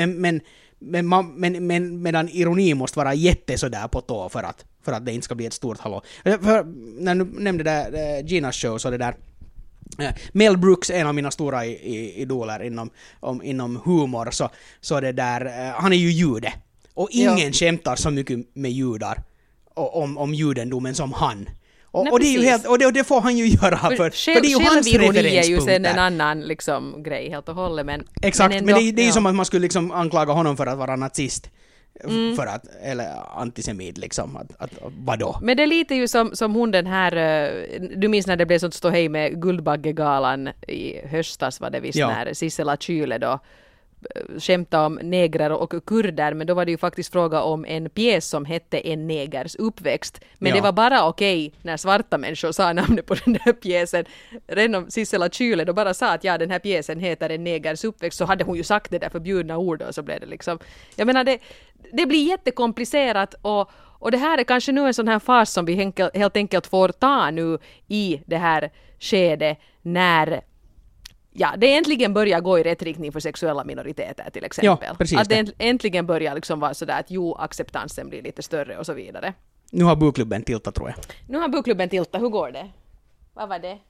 Men medan ironi måste vara sådär på tå för att det inte ska bli ett stort hallå. För när du nämnde det Ginas show, så det där Mel Brooks, en av mina stora idoler inom humor, så det där, han är ju jude, och ingen skämtar så mycket med judar om judendomen som han. Och det är ju helt, och det får han ju göra för det är ju hans referenspunkter. är ju sen en annan liksom grej helt och hållet, men exakt, men det är ju som att man skulle liksom anklaga honom för att vara nazist. För att, eller antisemit liksom, att vadå? Men det är lite ju som hon den här, du minns när det blev sånt ståhej med Guldbaggegalan i höstas, var det visst, när Sissela Kyle då skämta om negrer och kurder, men då var det ju faktiskt fråga om en pjäs som hette En negers uppväxt. Men det var bara okej när svarta människor sa namnet på den där pjäsen. Redan om Sissela Kyle då bara sa att den här pjäsen heter En negers uppväxt, så hade hon ju sagt det där förbjudna ordet, och så blev det liksom, jag menar det blir jättekomplicerat, och det här är kanske nu en sån här fas som vi helt enkelt får ta nu i det här skedet när det äntligen börjar gå i rätt riktning för sexuella minoriteter till exempel. Ja, precis, att det äntligen börjar liksom vara sådär att acceptansen blir lite större och så vidare. Nu har bokklubben tiltat, tror jag. Nu har bokklubben tiltat, hur går det? Vad var det?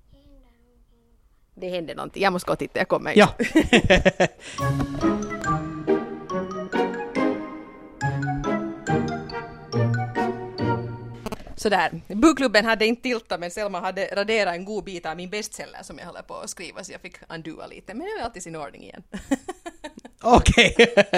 Det hände någonting, jag måste gå och titta, jag kommer. Ja. Sådär. Bokklubben hade inte tiltat, men Selma hade raderat en god bit av min bestseller som jag håller på att skriva, så jag fick undua lite. Men nu är allt i sin ordning igen. Okej.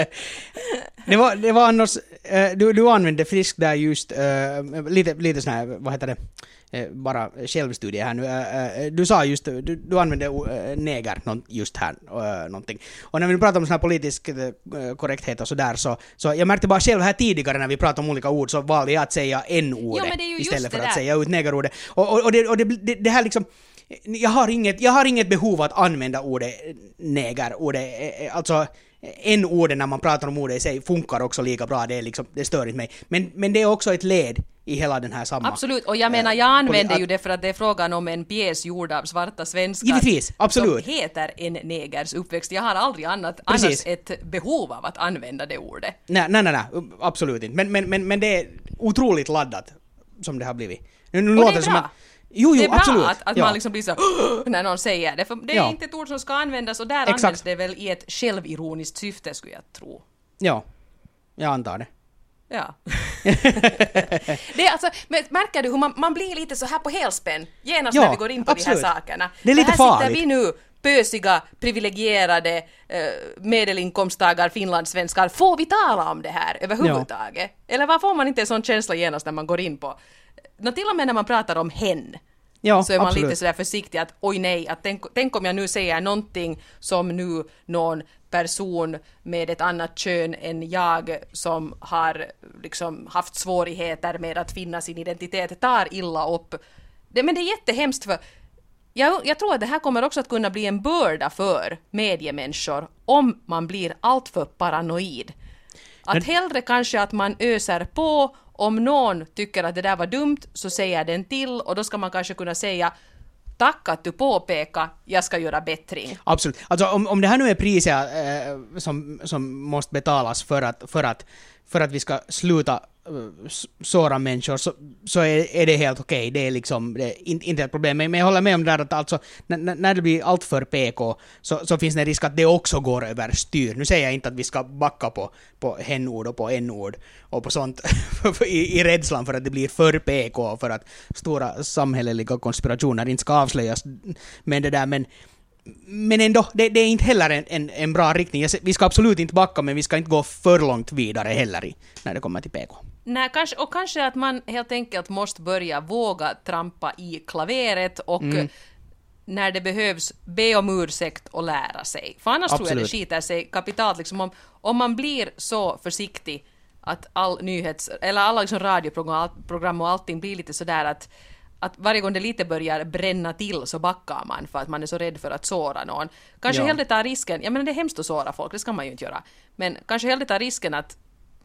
Det var annars... Du använde friskt där just lite sån här, vad heter det, bara självstudie här nu. Du sa just, du använde neger just här, någonting. Och när vi pratar om sån här politisk korrekthet och sådär, så jag märkte bara själv här tidigare när vi pratade om olika ord så valde jag att säga n-ordet istället för att säga ut negerordet. Och det här liksom... Jag har inget behov att använda ordet neger. Alltså n-ordet när man pratar om ordet i sig funkar också lika bra. Det stör inte mig. Men det är också ett led i hela den här samma... Absolut, och jag menar jag använder ju det för att det är frågan om en pjäs gjord av svarta svenskar. Givetvis, absolut. Som heter En negers uppväxt. Jag har aldrig annars ett behov av att använda det ordet. Nej, absolut inte. Men det är otroligt laddat som det har blivit. Nu och det är som bra. Jo, det är absolut. bra att man liksom blir så när någon säger det, för det är inte ett ord som ska användas och där används det väl i ett självironiskt syfte skulle jag tro. Ja, jag antar det. Ja. Det är alltså, märker du hur man blir lite så här på helspänn genast när vi går in på de här sakerna. Det är lite här farligt. sitter vi nu, pösiga, privilegierade medelinkomsttagare, finlandssvenskar. Får vi tala om det här överhuvudtaget? Ja. Eller vad får man inte en sån känsla genast när man går in på... Till och med när man pratar om hen så är man absolut. lite sådär försiktig att oj nej, att tänk om jag nu säger någonting som nu någon person med ett annat kön än jag som har liksom haft svårigheter med att finna sin identitet tar illa upp. Men det är jättehemskt för jag tror att det här kommer också att kunna bli en börda för mediemänniskor om man blir alltför paranoid. Att hellre kanske att man öser på. Om någon tycker att det där var dumt så säger den till och då ska man kanske kunna säga tack att du påpekar, jag ska göra bättring. Absolut. Alltså om det här nu är priser som måste betalas för att vi ska sluta såra människor så är det helt okej. Det är liksom inte ett problem. Men jag håller med om det där att alltså, när det blir allt för PK så finns det en risk att det också går över styr. Nu säger jag inte att vi ska backa på hen-ord och på n-ord och på sånt i rädslan för att det blir för PK för att stora samhälleliga konspirationer inte ska avslöjas. Men ändå, det är inte heller en bra riktning. Vi ska absolut inte backa, men vi ska inte gå för långt vidare heller när det kommer till PK. Nej, kanske att man helt enkelt måste börja våga trampa i klaveret och när det behövs be om ursäkt och lära sig. För annars tror jag det skiter sig kapitalt. Liksom om man blir så försiktig att alla liksom radioprogram och allting blir lite sådär att varje gång det lite börjar bränna till så backar man för att man är så rädd för att såra någon. Kanske hellre ta risken, jag menar det är hemskt att såra folk, det ska man ju inte göra. Men kanske hellre ta risken att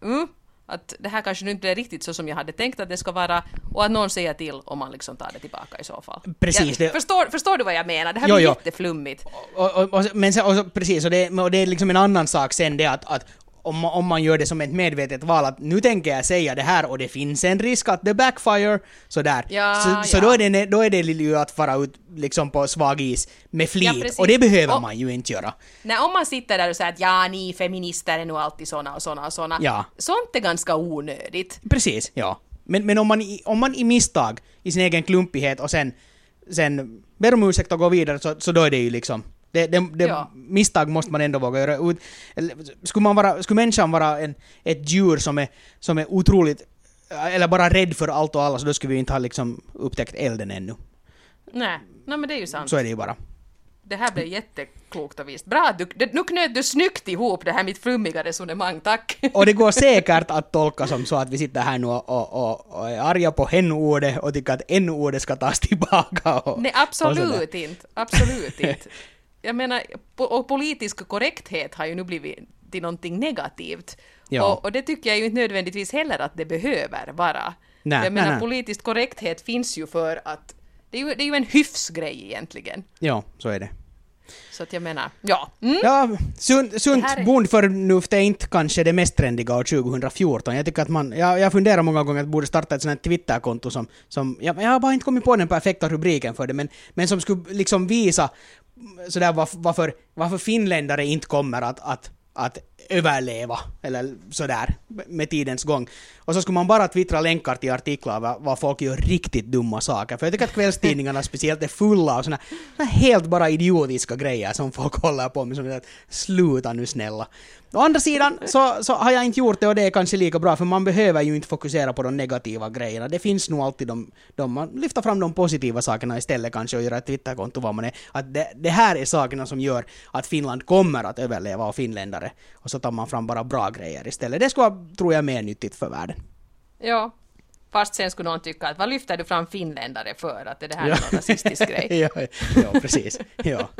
det här kanske nu inte är riktigt så som jag hade tänkt att det ska vara och att någon säger till om man liksom tar det tillbaka i så fall. Precis. Förstår du vad jag menar? Det här blir jätteflummigt. Precis, och det är liksom en annan sak sen det att om man gör det som ett medvetet val att nu tänker jag säga det här och det finns en risk att det backfire sådär. Så då är det ju att fara ut liksom på svag is med flit och det behöver man ju inte göra. Nej, om man sitter där och säger att ni feminister är nog alltid såna och såna. Ja. Sånt är ganska onödigt. Precis, ja. Men om man i misstag i sin egen klumpighet och sen ber om ursäkt och gå vidare så då är det ju liksom misstag måste man ändå våga göra. Skulle människan vara ett djur som är otroligt eller bara rädd för allt och alla så då skulle vi inte ha liksom upptäckt elden ännu. Nej, men det är ju sant. Så är det ju bara. Det här blev jätteklokt och visst. Bra, nu knöt du snyggt ihop det här mitt flummiga resonemang, tack. Och det går säkert att tolka som så att vi sitter här nu och är arga på hen-ordet och tycker att n-ordet ska tas tillbaka. Nej, absolut inte. Jag menar, och politisk korrekthet har ju nu blivit till någonting negativt. Ja. Och det tycker jag ju inte nödvändigtvis heller att det behöver vara. Nej. Politisk korrekthet finns ju för att det är ju en hyfsgrej egentligen. Ja, så är det. Så att jag menar, sunt bondförnuft är inte kanske det mest trendiga år 2014. Jag tycker att jag funderar många gånger att borde starta ett sånt här Twitterkonto som jag har bara inte kommit på den perfekta rubriken för det, men som skulle liksom visa sådär varför finländare inte kommer att att överleva, eller sådär, med tidens gång. Och så skulle man bara twittra länkar till artiklar vad folk gör riktigt dumma saker. För jag tycker att kvällstidningarna speciellt är fulla av såna helt bara idiotiska grejer som folk håller på med, som att sluta nu snälla. Å andra sidan så har jag inte gjort det, och det är kanske lika bra, för man behöver ju inte fokusera på de negativa grejerna. Det finns nog alltid man lyfter fram de positiva sakerna istället kanske, och göra ett Twitterkonto vad man är. Att det här är sakerna som gör att Finland kommer att överleva, och finländare. Och så tar man fram bara bra grejer istället. Det skulle vara, tror jag, mer nyttigt för världen. Ja, fast sen skulle någon tycka att vad lyfter du fram finländare för? Att det här är någon rasistisk grej. ja, precis. Ja.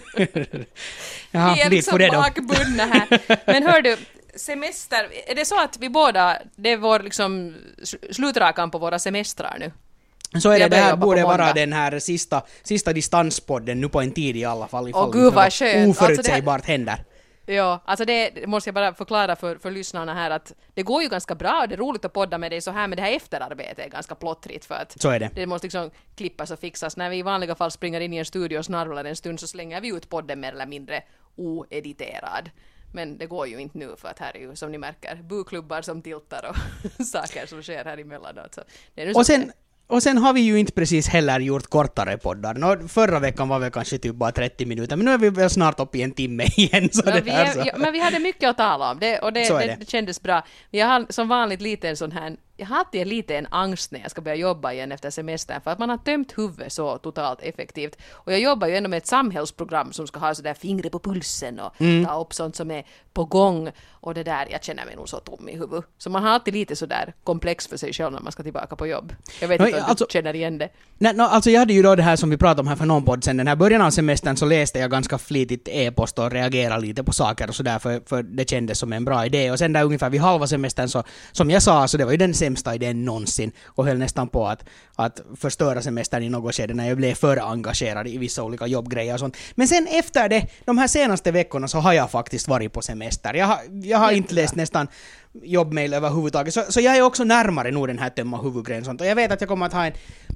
Ja, vi är liksom bakbundna här. Men hör du, semester, är det så att vi båda, det är vår liksom slutrakan på våra semestrar nu? Så är det här borde vara den här sista distanspodden nu på en tid i alla fall. Åh gud vad skönt. Oförutsägbart alltså händer. Ja, alltså det måste jag bara förklara för lyssnarna här, att det går ju ganska bra, det är roligt att podda med dig så här, men det här efterarbetet är ganska plottrigt, för att så är det. Det måste liksom klippas och fixas. När vi i vanliga fall springer in i en studio och snarvlar en stund, så slänger vi ut podden mer eller mindre oediterad. Men det går ju inte nu, för att här är ju, som ni märker, buklubbar som tiltar och saker som sker här emellanåt. Så det är nu och sen har vi ju inte precis heller gjort kortare poddar. Förra veckan var vi kanske typ bara 30 minuter, men nu är vi väl snart uppe i en timme igen. Så men vi hade mycket att tala om, och det kändes bra. Jag har som vanligt lite en sån här, jag har alltid lite en angst när jag ska börja jobba igen efter semestern, för att man har tömt huvudet så totalt effektivt. Och jag jobbar ju ändå med ett samhällsprogram som ska ha sådär fingret på pulsen och ta upp sånt som är på gång. Och det där, jag känner mig nog så tom i huvudet. Så man har alltid lite sådär komplex för sig själv när man ska tillbaka på jobb. Jag vet inte om du känner igen det. Alltså jag hade ju då det här som vi pratade om här för någon podd sen. Den här början av semestern så läste jag ganska flitigt e-post och reagerade lite på saker och sådär, för det kändes som en bra idé. Och sen där ungefär vid halva semestern så, som jag sa, så det var ju den sämsta idén någonsin, och höll nästan på att förstöra semestern i något skede när jag blev för engagerad i vissa olika jobbgrejer och sånt. Men sen efter det, de här senaste veckorna, så har jag faktiskt varit på semester. Jag har inte läst nästan jobbmail överhuvudtaget, så jag är också närmare nog den här tömma huvudgrejen sånt. Och jag vet att jag kommer att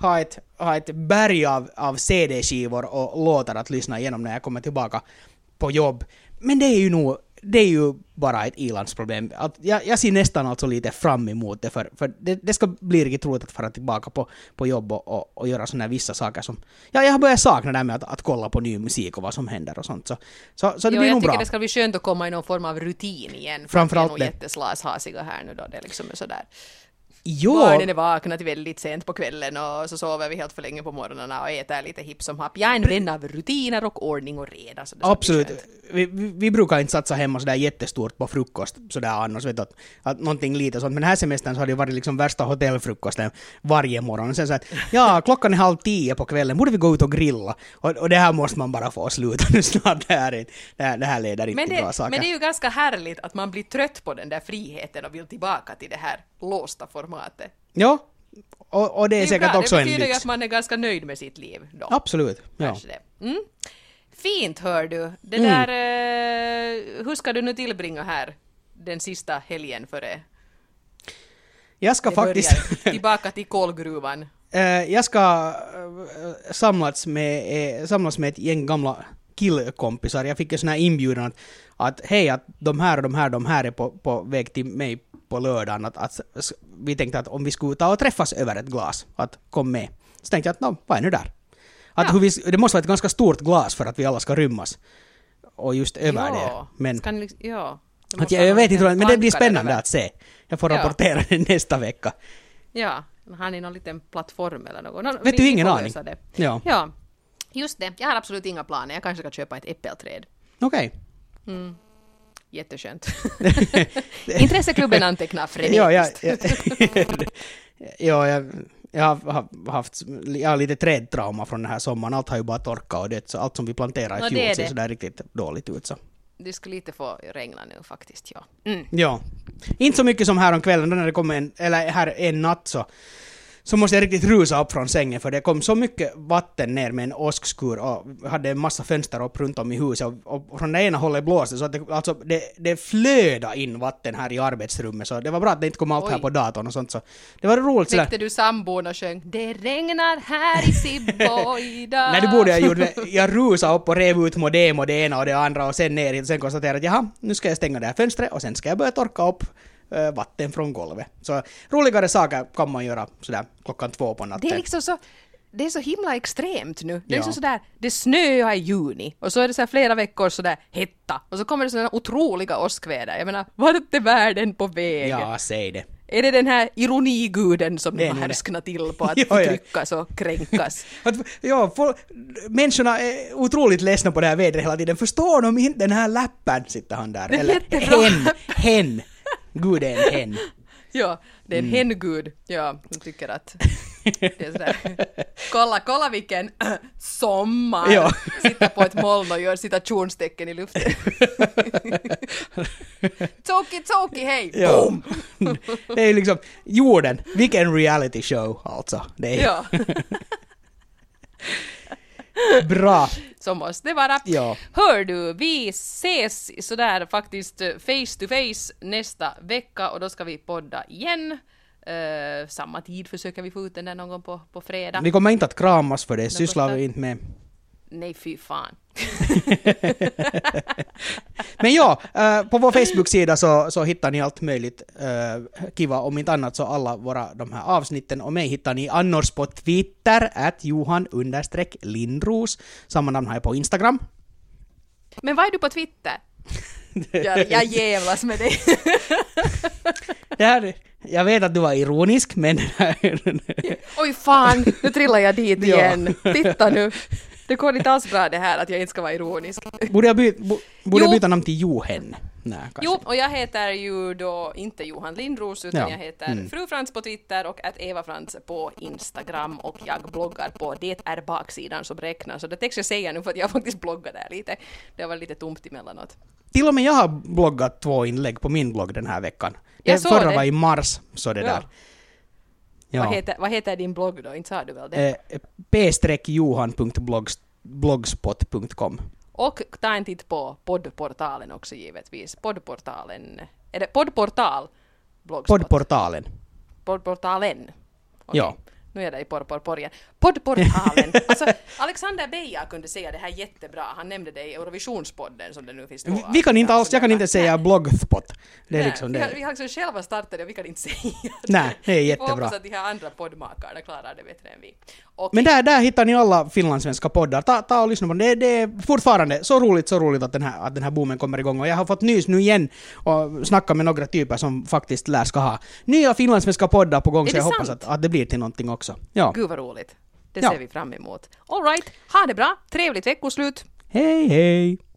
ha ett berg av CD-skivor och låtar att lyssna igenom när jag kommer tillbaka på jobb. Men det är ju bara ett ilandsproblem. Jag ser nästan alltså lite fram emot det, för det ska bli riktigt roligt att fara tillbaka på jobb och göra såna här vissa saker som... Ja, jag har börjat sakna det här med att kolla på ny musik och vad som händer och sånt. Så det blir nog bra. Jag tycker det ska bli skönt att komma i någon form av rutin igen. Framförallt det. Vi är nog jätteslashasiga här nu då. Det är liksom sådär... Jo. Barnen är vakna till väldigt sent på kvällen, och så sover vi helt för länge på morgnarna och äter lite hipp som happ. Jag är en vän av rutiner och ordning och reda. Så det absolut. Vi brukar inte satsa hemma sådär jättestort på frukost sådär annars, vet du, att någonting lite sånt. Men den här semestern så har det varit liksom värsta hotellfrukosten varje morgon. Och sen så att, ja, klockan är 9:30 på kvällen, borde vi gå ut och grilla? Och det här måste man bara få sluta nu snart. Det här leder inte till bra saker. Men det är ju ganska härligt att man blir trött på den där friheten och vill tillbaka till det här låsta formatet. Ja, och det är säkert bra. också en lyx. Det betyder ju att man är ganska nöjd med sitt liv då. Absolut, ja. Fint, hör du. Det där, hur ska du nu tillbringa här den sista helgen före? Jag ska faktiskt... tillbaka till kolgruvan. Jag ska samlas med ett gäng gamla killkompisar. Jag fick en sån här inbjudan att hej, att de här är på väg till mig på lördagen. Att vi tänkte att om vi skulle ta och träffas över ett glas, att kom med. Så tänkte jag att vad är nu där? Att det måste vara ett ganska stort glas för att vi alla ska rymmas. Och just över det. Men jag vet inte, men det blir spännande att se. Jag får rapportera det nästa vecka. Ja, har ni någon liten plattform eller något? Vet du, ingen aning. Ja, just det. Jag har absolut inga planer. Jag kanske ska köpa ett äppelträd. Okej. Jätteskönt. Intresseklubben antecknar frenetiskt. Jag har lite trädtrauma från den här sommaren. Allt har ju bara torkat och det, så allt som vi planterar i fjol ser så där riktigt dåligt ut. Så. Det skulle lite få regna nu faktiskt, ja. Ja. Inte så mycket som här om kvällen när det kommer en natt så måste jag riktigt rusa upp från sängen för det kom så mycket vatten ner med en åskskur och hade en massa fönster upp runt om i huset och från det ena hållet blåste så att det flöda in vatten här i arbetsrummet så det var bra att det inte kom allt här på datorn och sånt så det var roligt sådär. Väckte du sambon och sjöng det regnar här i Sibboida? Nej, det borde jag gjort. Jag rusade upp och rev ut modem och det ena och det andra och sen ner och sen konstaterade att jaha, nu ska jag stänga det här fönstret och sen ska jag börja torka upp vatten från golvet. Så roligare saker kan man göra sådär 2:00 på natten. Det är liksom så, det är så himla extremt nu. Det är liksom sådär, det snöar i juni och så är det så här flera veckor sådär hetta och så kommer det sådana otroliga åskväder. Jag menar, vart är världen på väg? Ja, säg det. Är det den här ironiguden som de har härsknat till på att förtryckas och kränkas? Människorna är otroligt ledsna på det här vädret hela tiden. Förstår de inte den här läppen, sitter han där. Det är eller jättebra. hen. Gud är en hen. Ja, det är en hengud. Ja, jag tycker att det är sådär. Kolla vilken sommar. Ja. Sitta på ett moln och gör citationstecken i luften. Toki, hej! Ja. Det är liksom jorden. Vilken reality show alltså. Det är Ja. bra. Så måste det vara. Ja. Hör du, vi ses sådär faktiskt face to face nästa vecka och då ska vi podda igen. Samma tid försöker vi få ut den där någon gång på fredag. Vi kommer inte att kramas för det sysslar vi inte med. Nej, fy fan. Men ja, på vår Facebook-sida så hittar ni allt möjligt kiva, om inte annat så alla de här avsnitten och mig hittar ni annars på Twitter @Johan_Lindros. Samma namn har jag på Instagram. Men vad är du på Twitter? Jag jävlas med dig. Jag vet att du var ironisk, men... Oj fan, nu trillar jag dit igen. Titta nu. Det går inte alls bra det här att jag inte ska vara ironisk. Borde jag byta namn till Johan? Nej, kanske. Jo, och jag heter ju då inte Johan Lindros utan jag heter Fru Frans på Twitter och @Eva Frans på Instagram och jag bloggar på Det är baksidan som räknar. Så det tänkte jag säga nu för att jag faktiskt bloggar där lite. Det var lite tomt emellanåt. Till och med jag har bloggat 2 inlägg på min blogg den här veckan. Förra var i mars, så det där. Ja. Vad heter din blogg då? Inte sa du väl det? p-johan.blogspot.com. Och ta en titt på poddportalen också givetvis. Poddportalen. Är det poddportal? Blogspot? Poddportalen. Okay. Ja. Nu är det i porrporren. Poddportalen. Alltså, Alexander Beija kunde säga det här jättebra. Han nämnde det i Eurovisionspodden som det nu finns. Jag kan inte säga bloggspot. Det är liksom det. Vi har liksom själva startat det och vi kan inte säga det. Nej, det är jättebra. Jag hoppas att de här andra poddmakarna klarar det bättre än vi. Okay. Men där hittar ni alla finlandssvenska poddar. Ta och lyssna på det. Det är fortfarande så roligt att den här boomen kommer igång. Och jag har fått nys nu igen och snacka med några typer som faktiskt ska ha nya finlandssvenska poddar på gång. Så jag hoppas att det blir till någonting också. Ja. Gud vad roligt. Det ser vi fram emot. All right, ha det bra. Trevligt veckoslut. Hej hej!